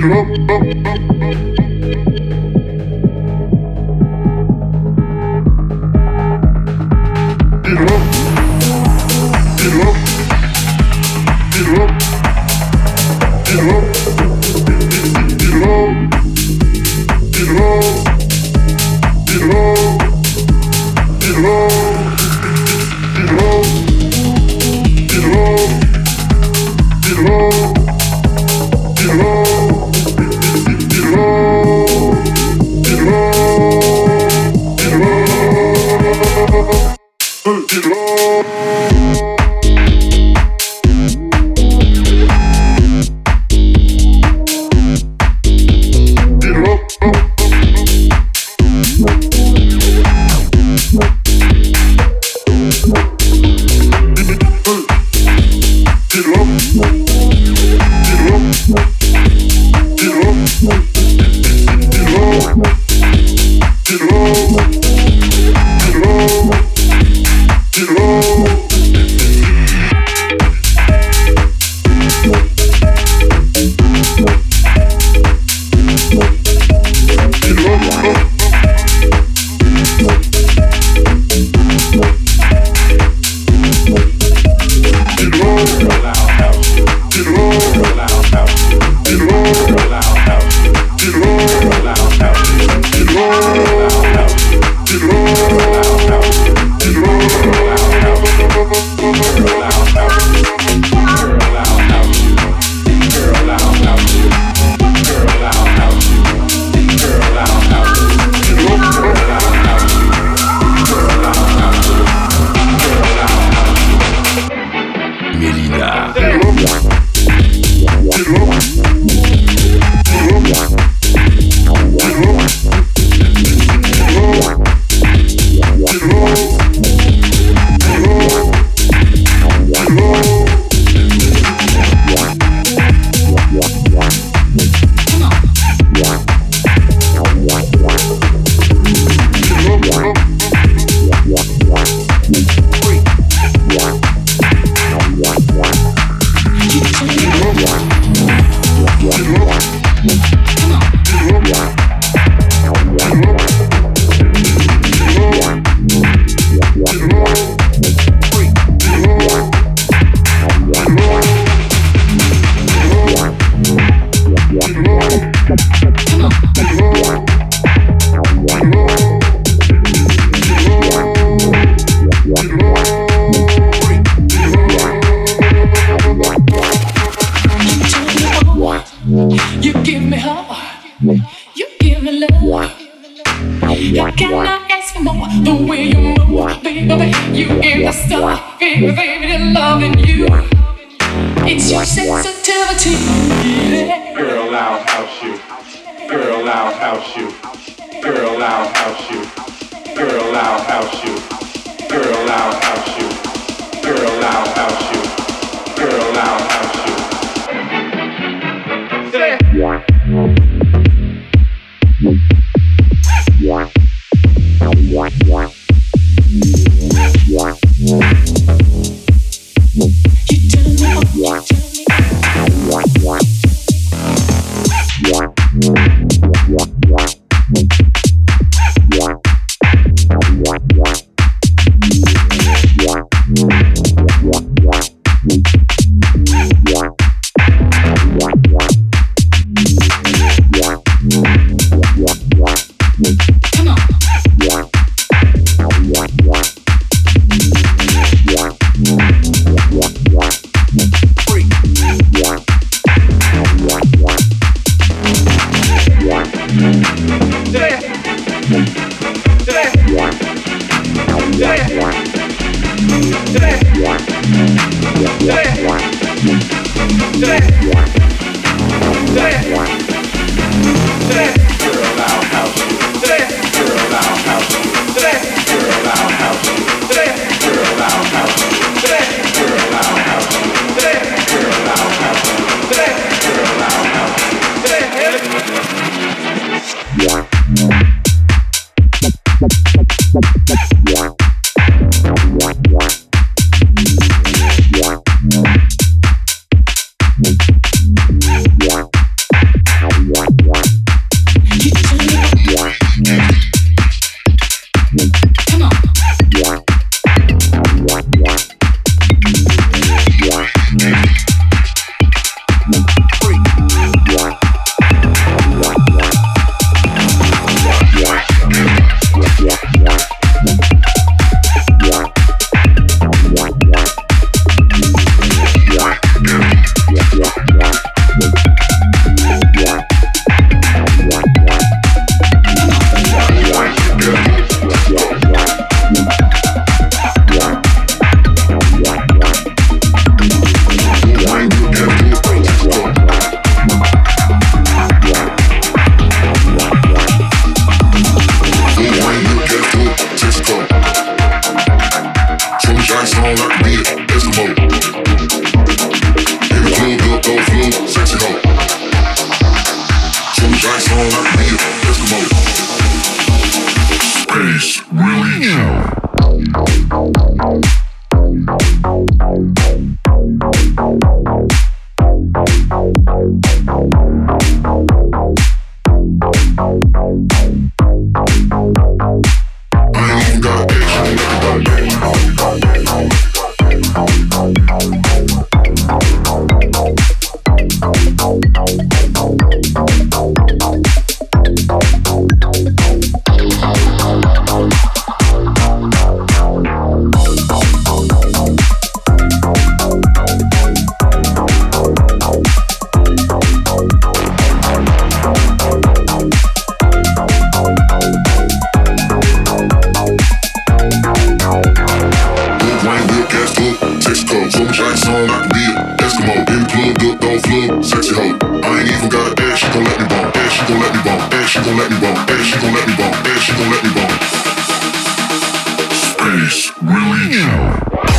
Yeah. on, I can be an Eskimo. In the club, good dog flub, sexy hoe. I ain't even gotta ask, she gon' let me bone. Ask, she gon' let me bone. Ask, she gon' let me bone. Ask, she gon' let me bone. Ask, she gon' let me bone. Space Religion.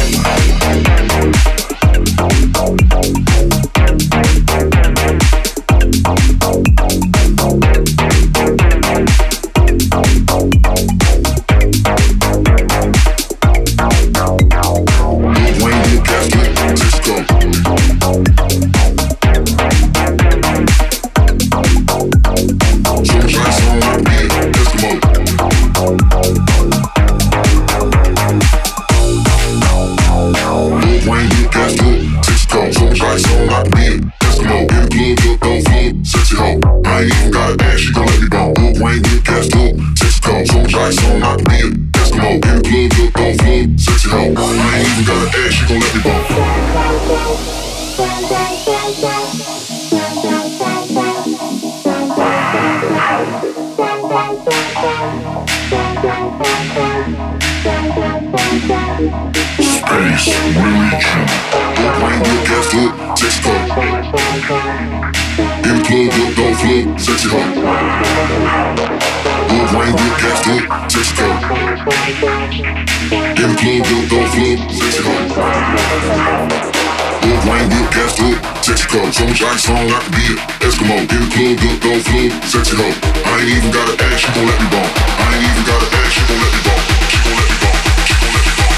Ice on, I can be an Eskimo. In the club, good dog flub, sexy hoe. I ain't even gotta ask, she gon' let me bone. I ain't even gotta ask, she gon' let me bone. She gon' let me bone. She gon' let me bone.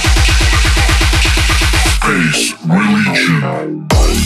Space Religion.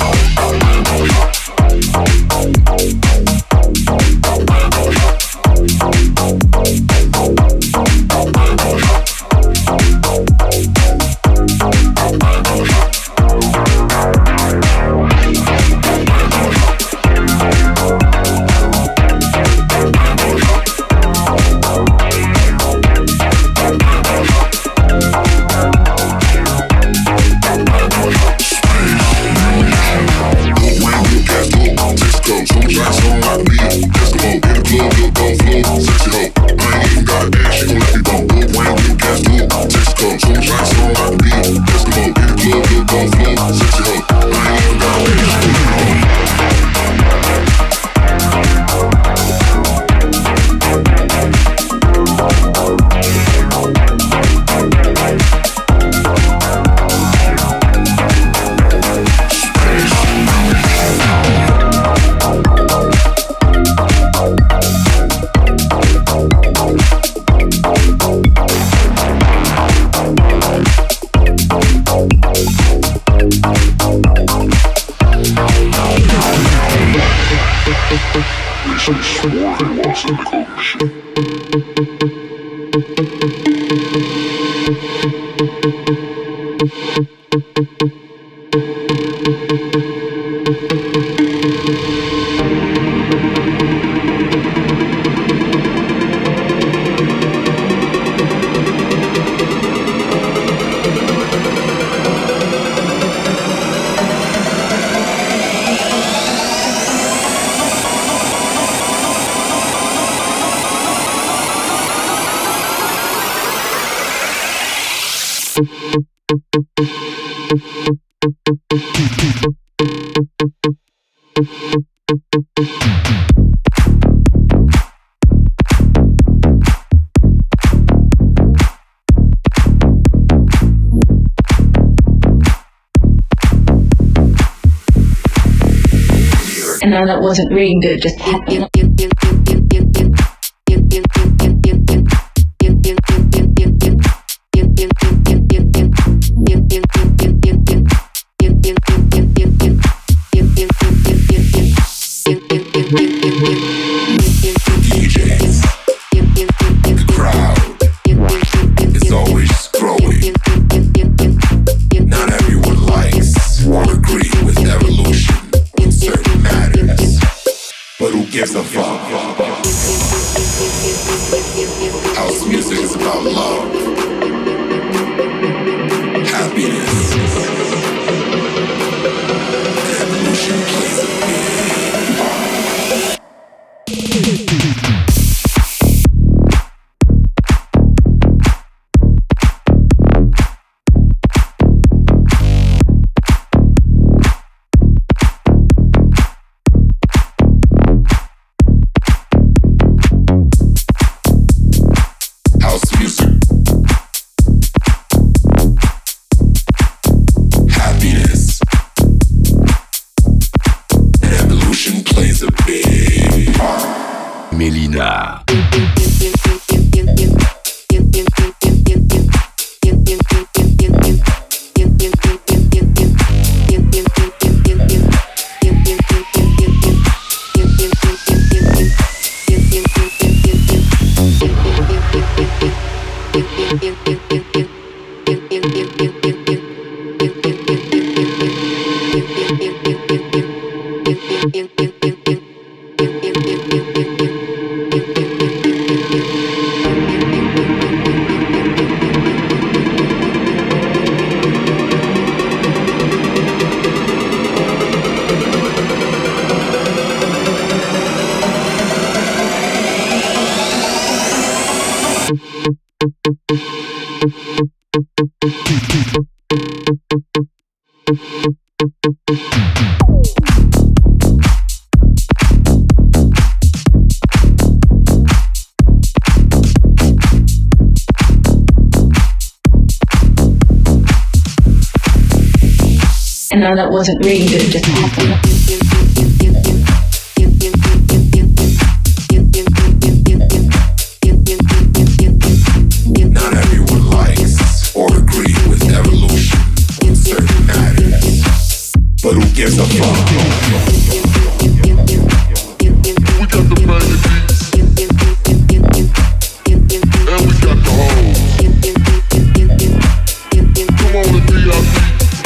And then it wasn't really good, just happened. Gives a fuck. House music is about love, happiness, and evolution plays a big part. Melyna. And then it wasn't really good, it just happened. Not everyone likes or agree with evolution in certain matters, but who gives a fuck? We got the banging beats, and we got the hoes. Come on and VIP.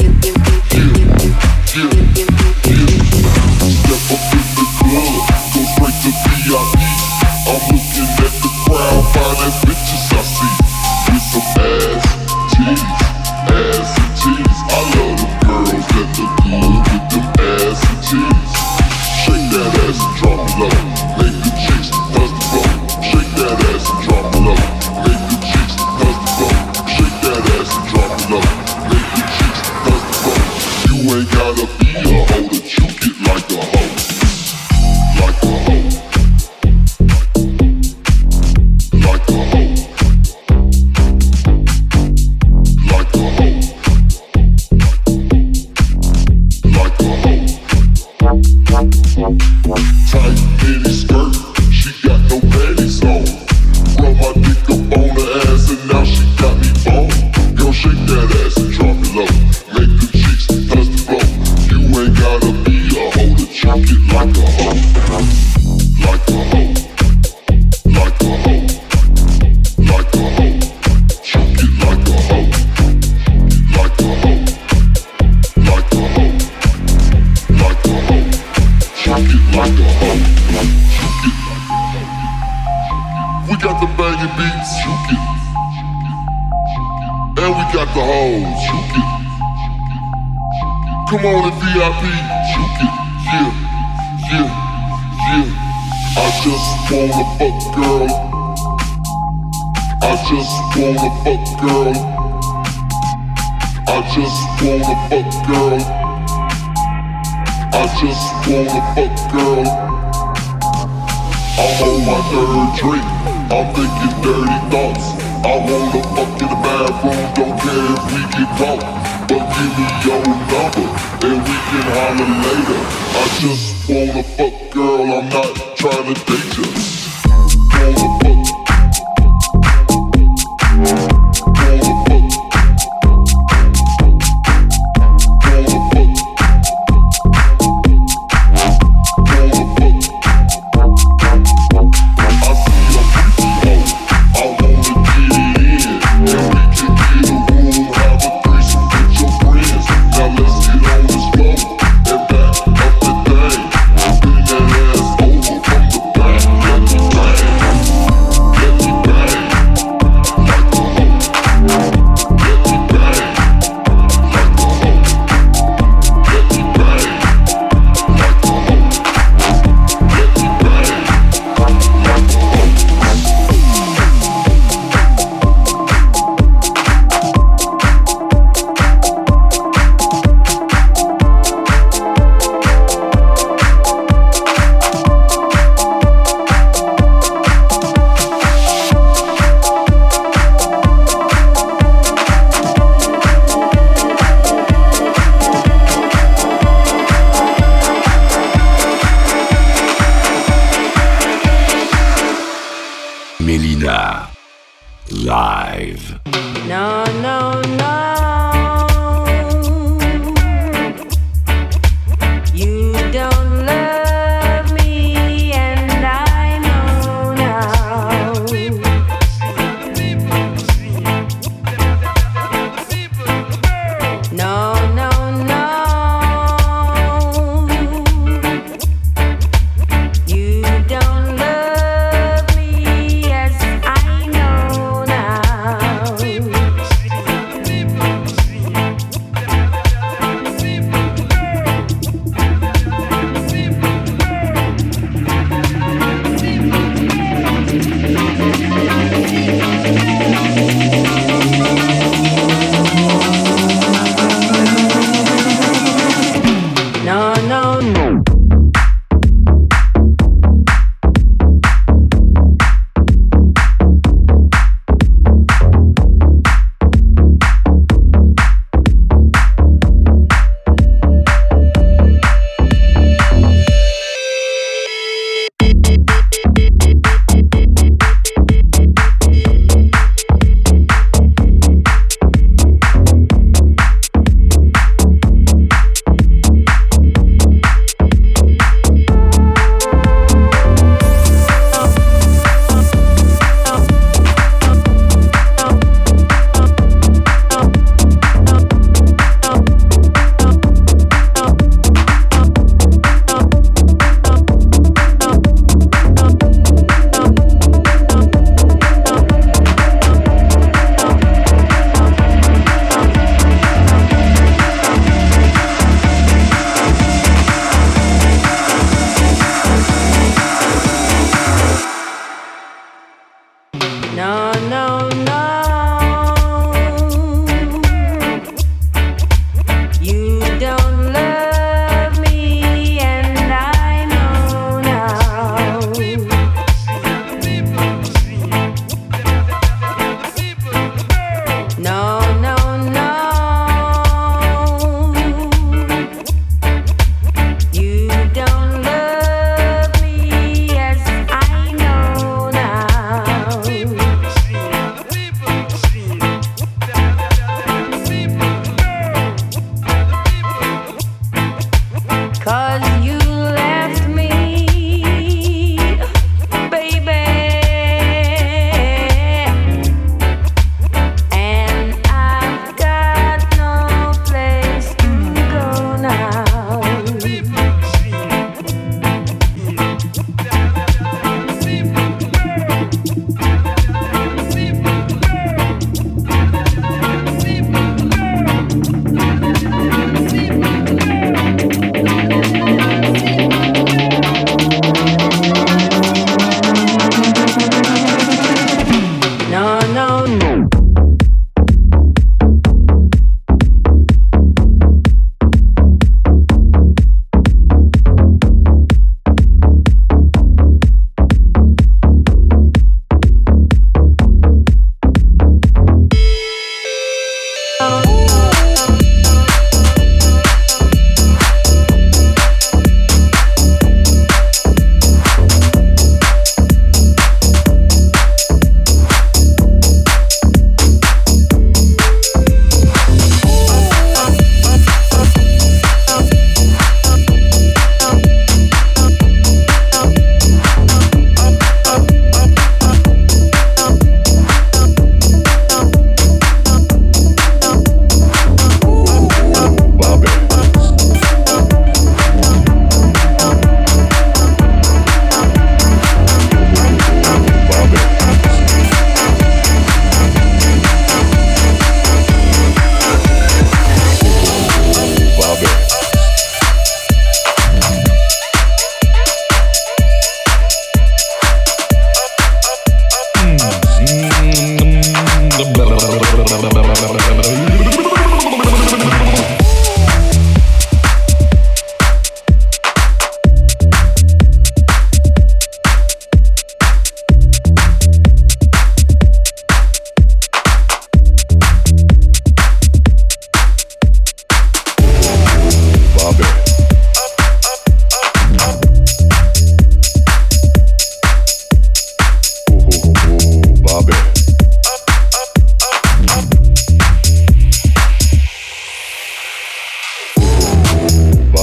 Step up in the club, go straight to VIP. I'm looking at the crowd, fine as bitches I see. With some ass and cheese. I love the girls that look good with them ass and cheese. Shake that ass and drop it low. Make the chicks touch the floor. Shake that ass and drop it low. Make the chicks touch the floor. Shake that ass and drop it low. Make the chicks touch the floor. You ain't gotta be a hoe to juke it like a hoe. Like a hoe. Like a hoe. Like a hoe. Like a hoe. Tight mini skirt, she got no panties on. Rub my dick up on her ass and now she got me on. Girl, shake that ass and drop it low. Make the chicks touch the floor. You ain't gotta be a hoe to choke it like a hoe. Like a hoe. Like a hoe. Like a hoe. Choke it like a hoe. Like a hoe. Like a hoe. Like a hoe. Choke it like a hoe. Choke it. We got the banging beats. Choke it. And we got the hoes. Choke it. Come on and VIP. Choke it. Yeah. Yeah. Yeah. I just wanna fuck girl. I just wanna fuck girl. I just wanna fuck girl. I just wanna fuck girl. I'm on my third drink. I'm thinking dirty thoughts. I wanna fuck in the bathroom. Don't care if we get caught. But give me your number and we can holler later. I just wanna fuck girl. I'm not trying to date you. Wanna fuck.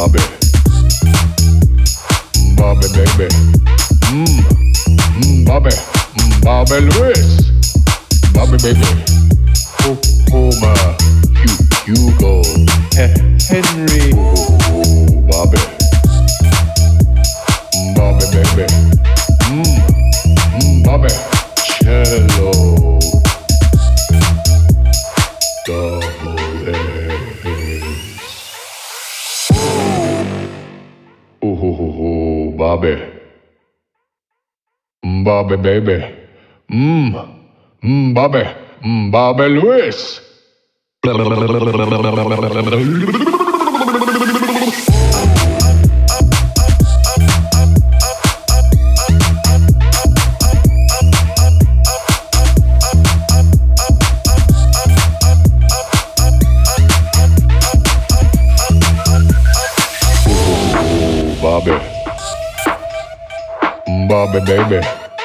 Bobby. Bobby baby. Bobby. Bobby Lewis. Bobby baby. Homer. Hugo. Henry. Bobby. Bobby baby. Bobby. Cello. Double A. Ooh, Bobby. Bobby baby. Bobby. Bobby Lewis. Bobby. Bobby baby.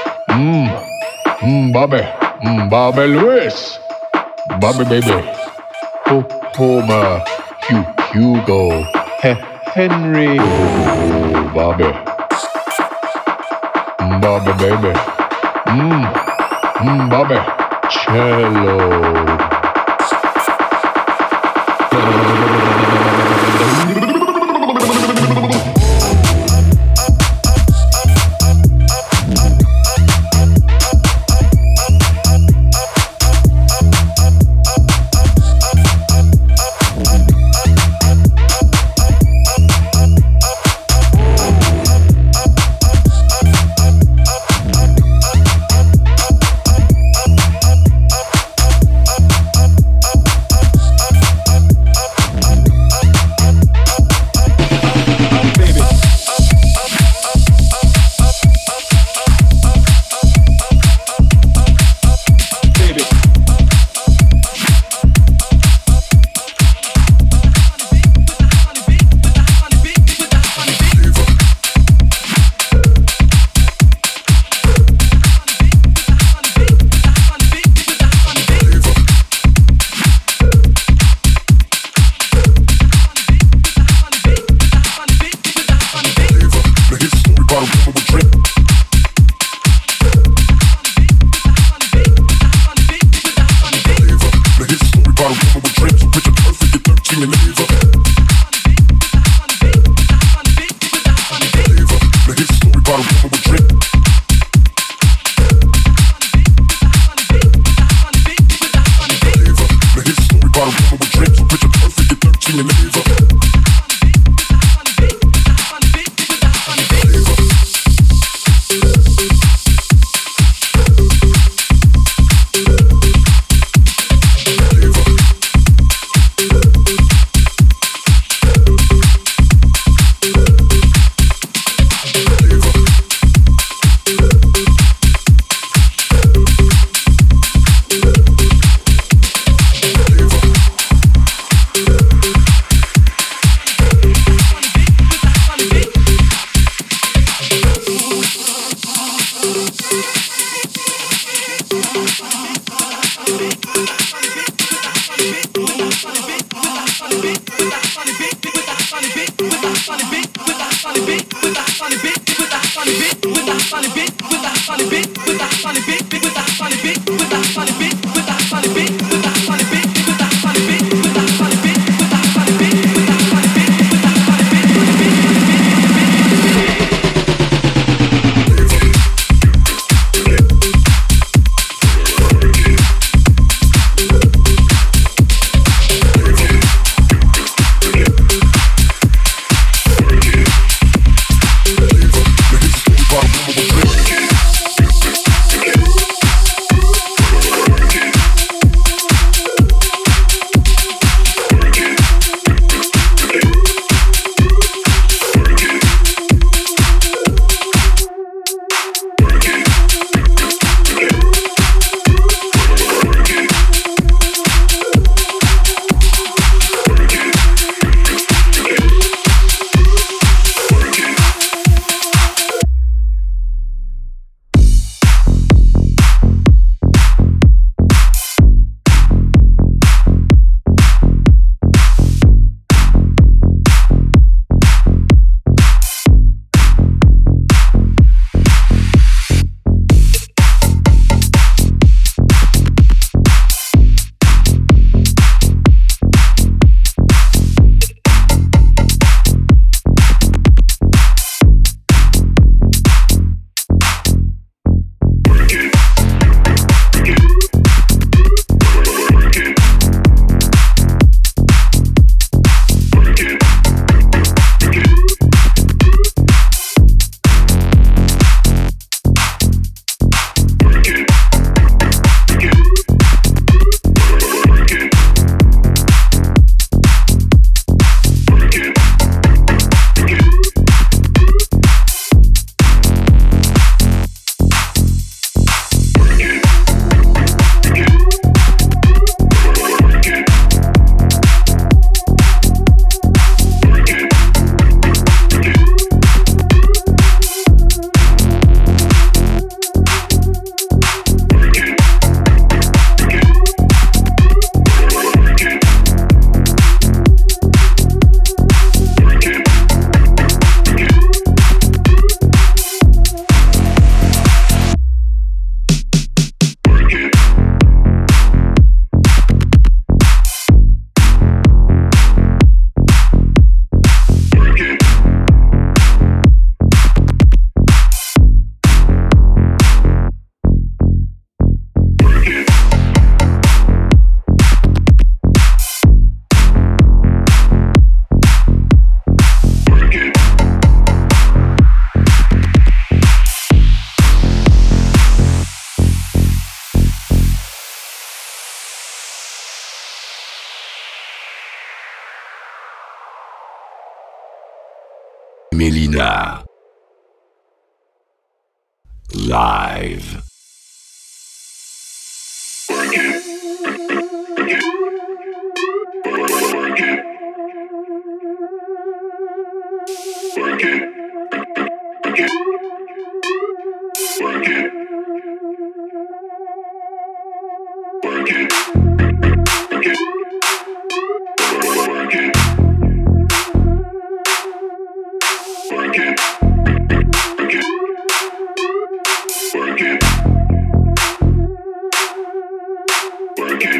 Bobby. Bobby Lewis. Bobby baby. Homer. Hugo. Henry. Bobby. Bobby baby. Bobby. Cello. Melyna. Live. Work it. Work it. Work it. Work it. Work it. Work it. Work it. Work it. Work it. Work it. Work it.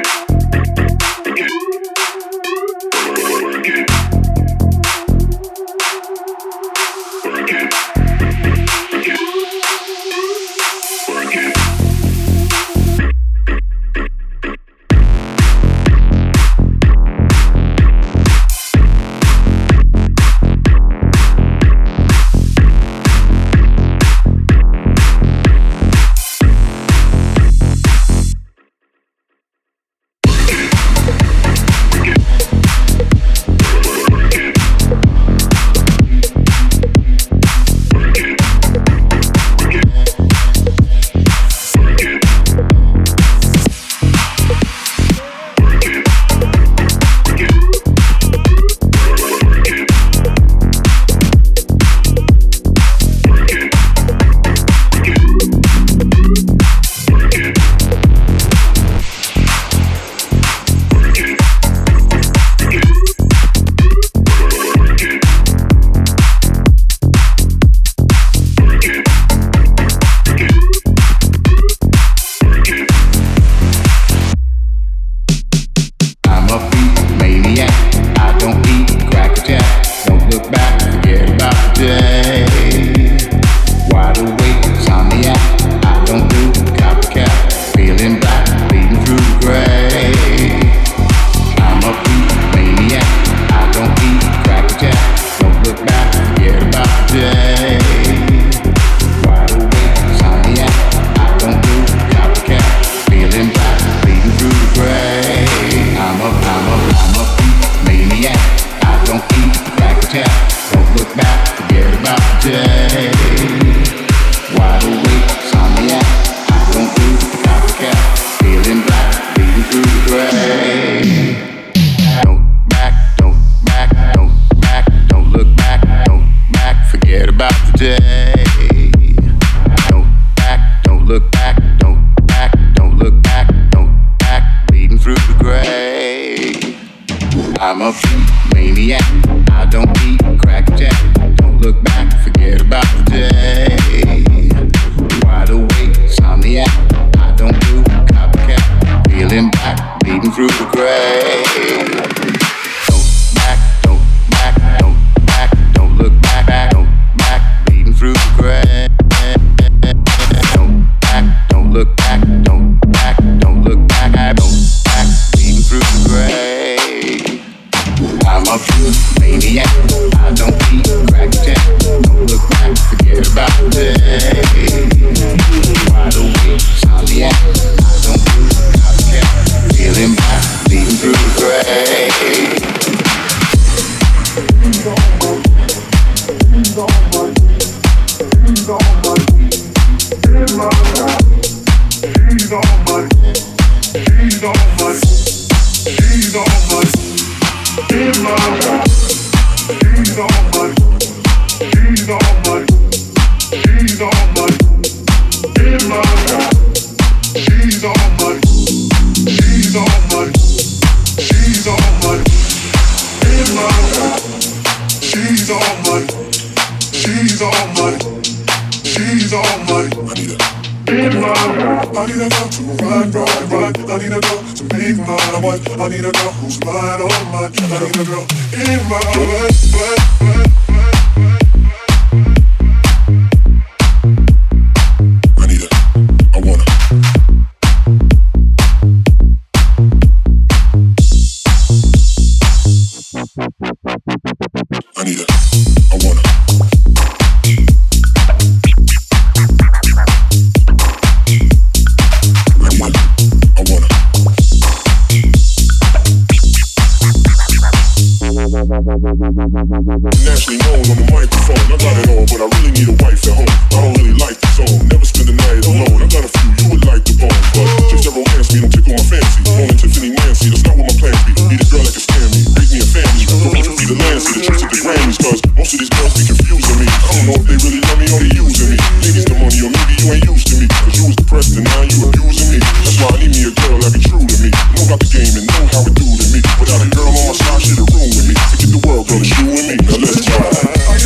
Nationally known on the microphone. I got it all, but I really need a wife at home. I don't really like the zone. Never spend the night alone. I got a few you would like to bone, but chicks that romance me don't tickle my fancy. Only Tiffany Nancy, that's not what my plans be. Need a girl that can stand me, make me a family. Don't need to be the Lancey, the trips at the Grammys, cause most of these girls be confusing me. I don't know if they really love me or they using me. Maybe it's the money or maybe you ain't used to me, cause you was depressed and now you abusing me. That's why I need me a girl that be true to me. Know about the game and know how it do to me. Without a girl on my side, shit'll ruin me. Forget the world, girl, it's you and me. Now let's ride.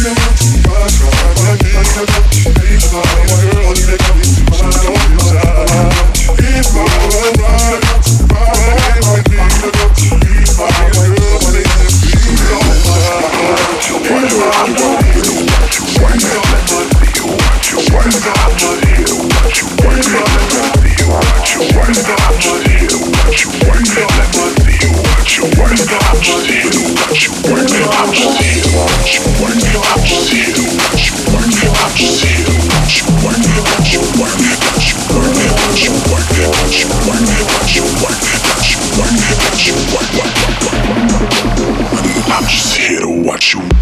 I'm just here to watch you.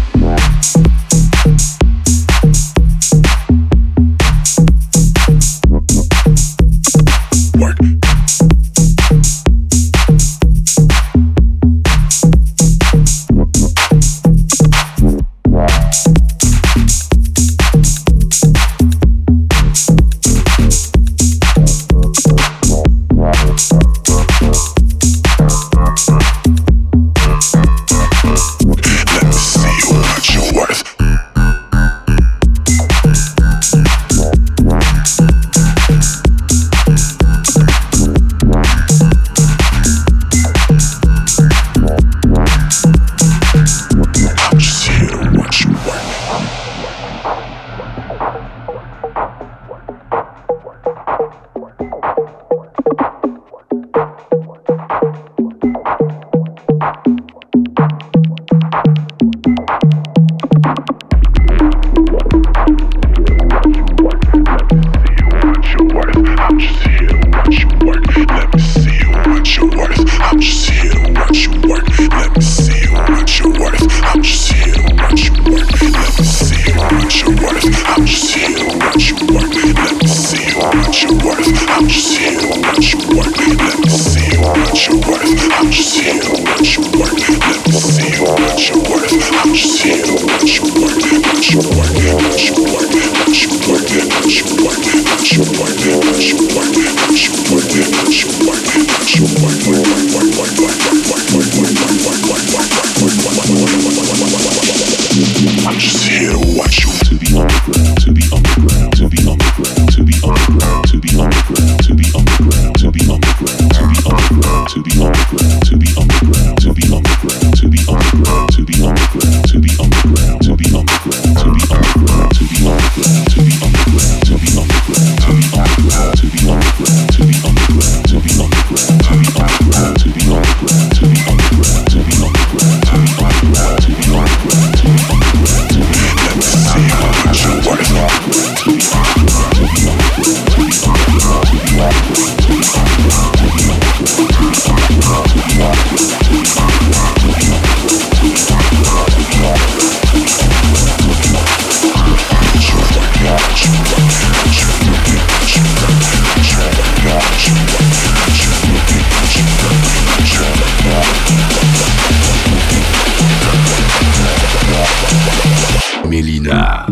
Melina.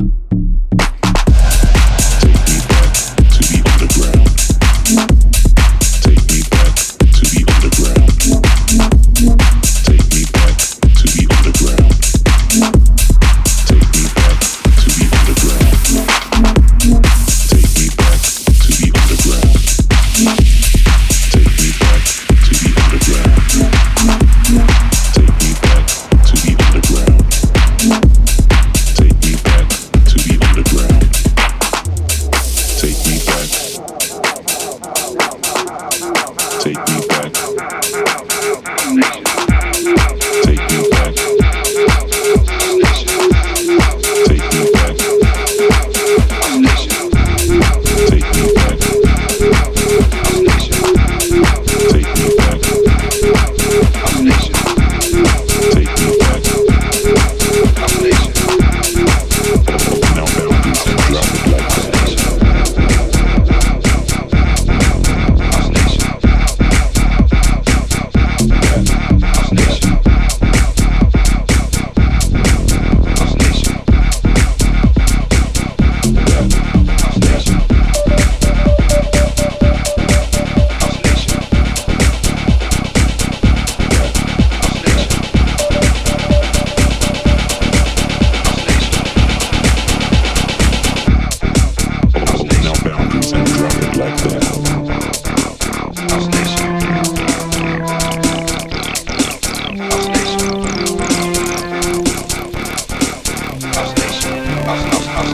Take me back. to the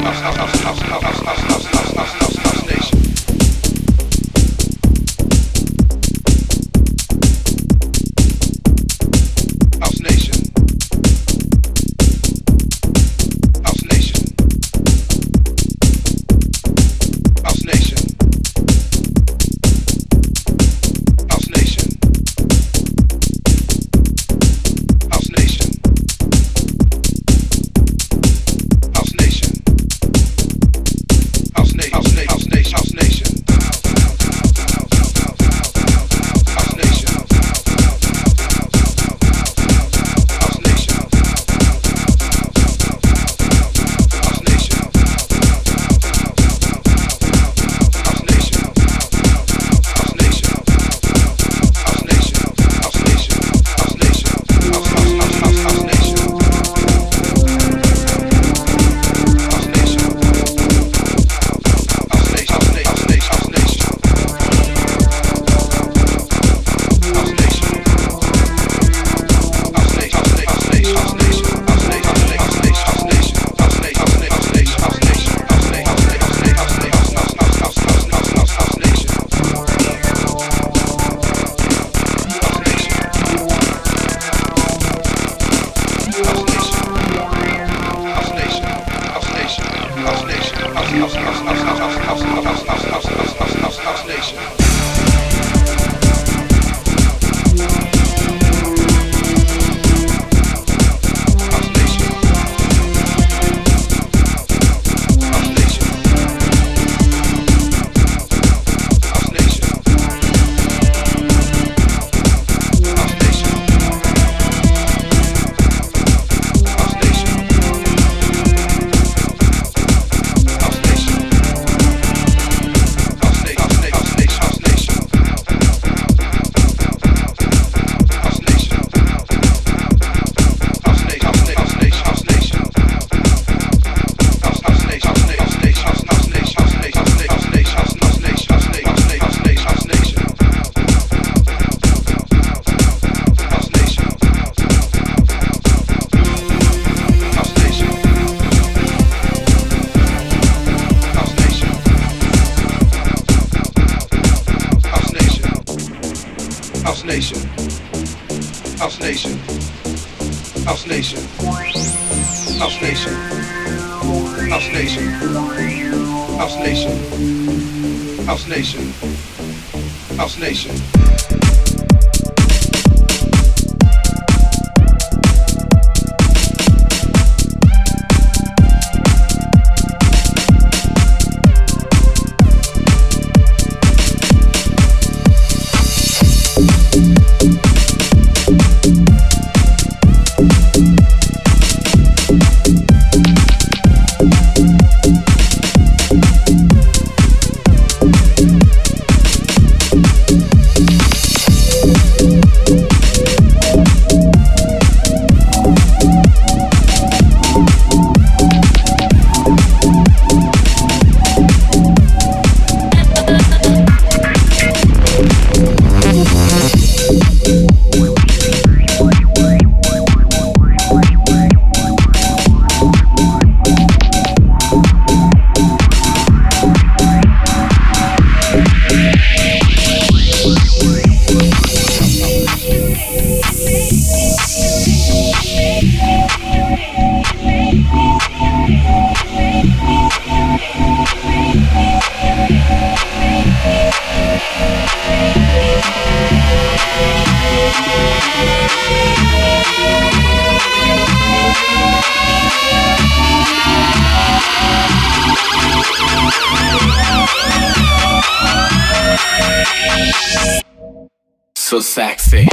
So sexy.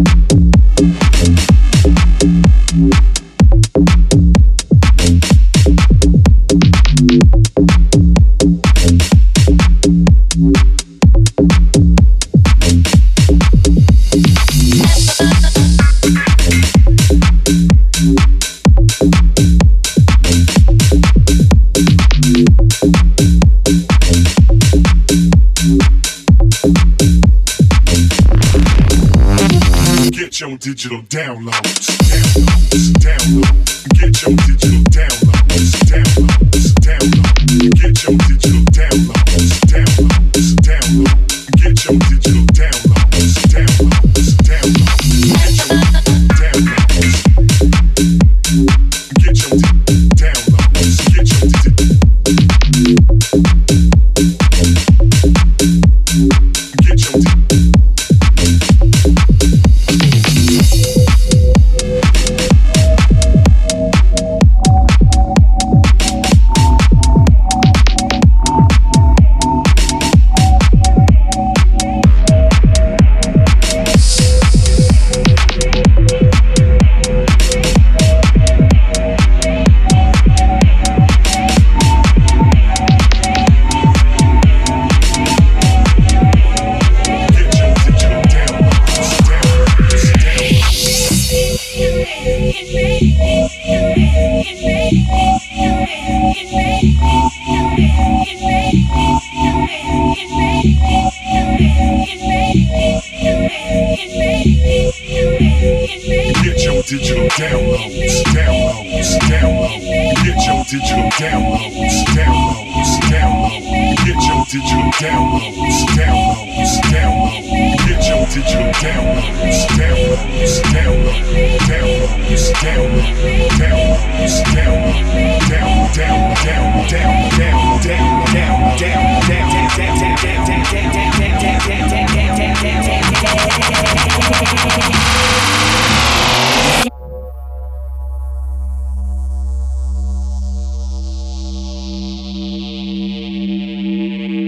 Your digital downloads, download. Get your digital downloads, download. Get your digital downloads, downloads, downloads. Get your digital downloads, downloads, downloads. Get your digital downloads, downloads, downloads. Get your digital downloads, downloads, downloads, downloads, downloads, downloads, downloads, down, down, down, down, down, down, down, down, down,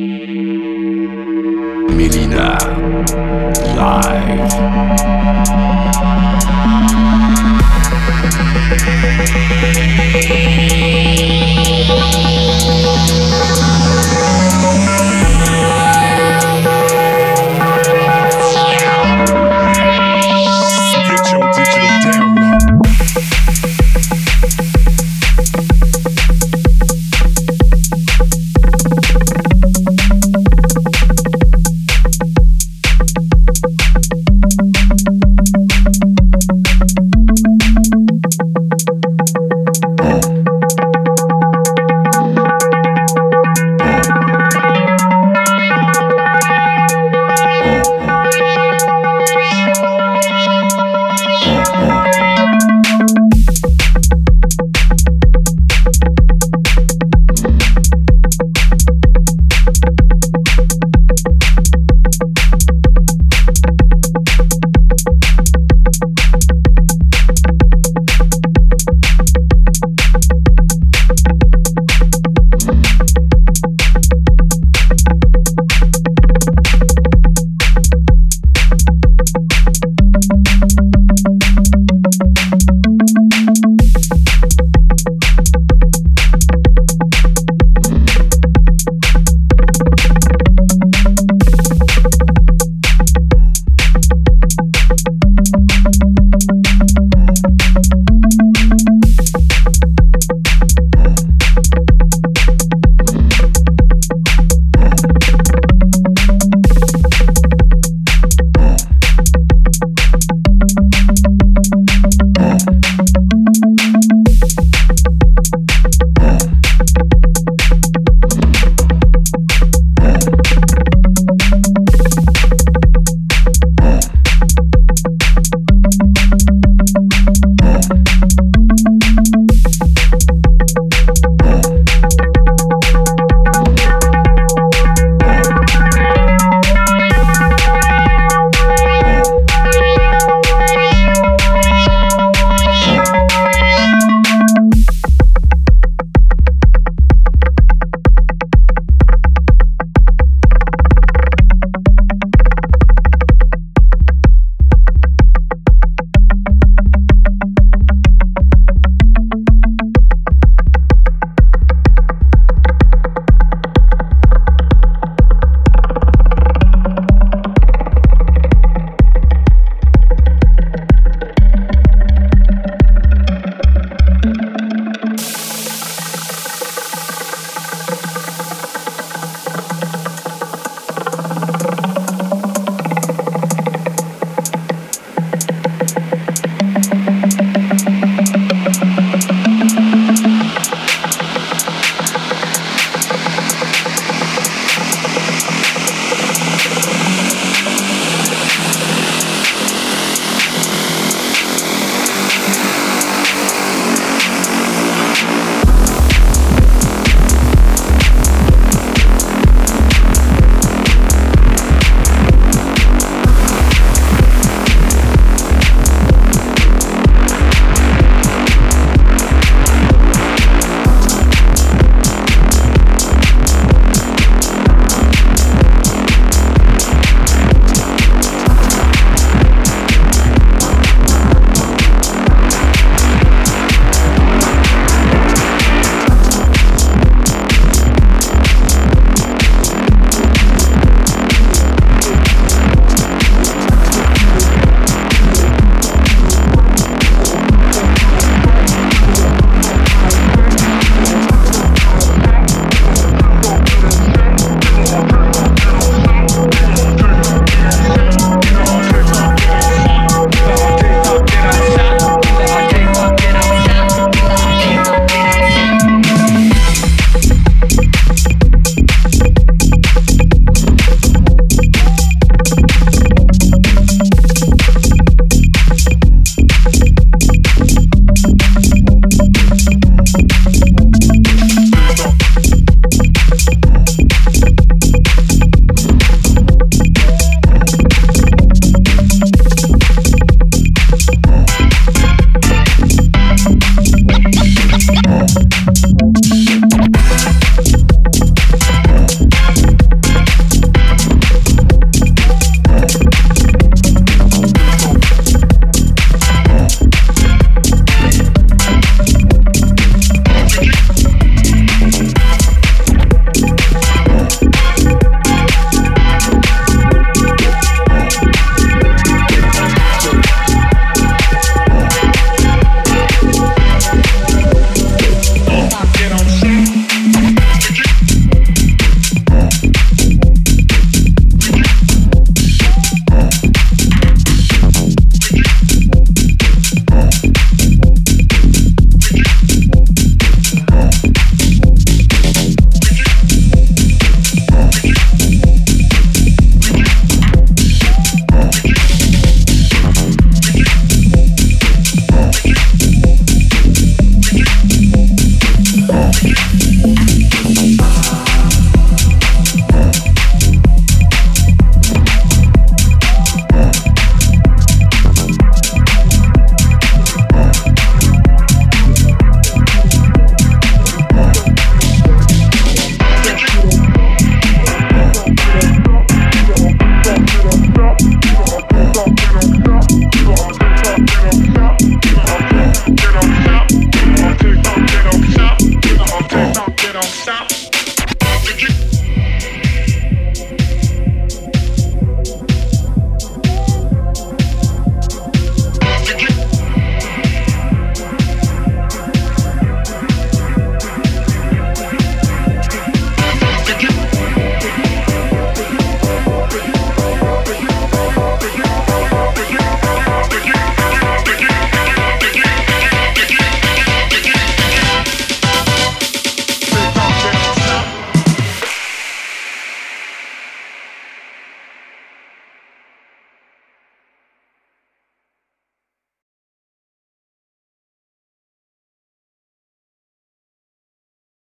Melyna live.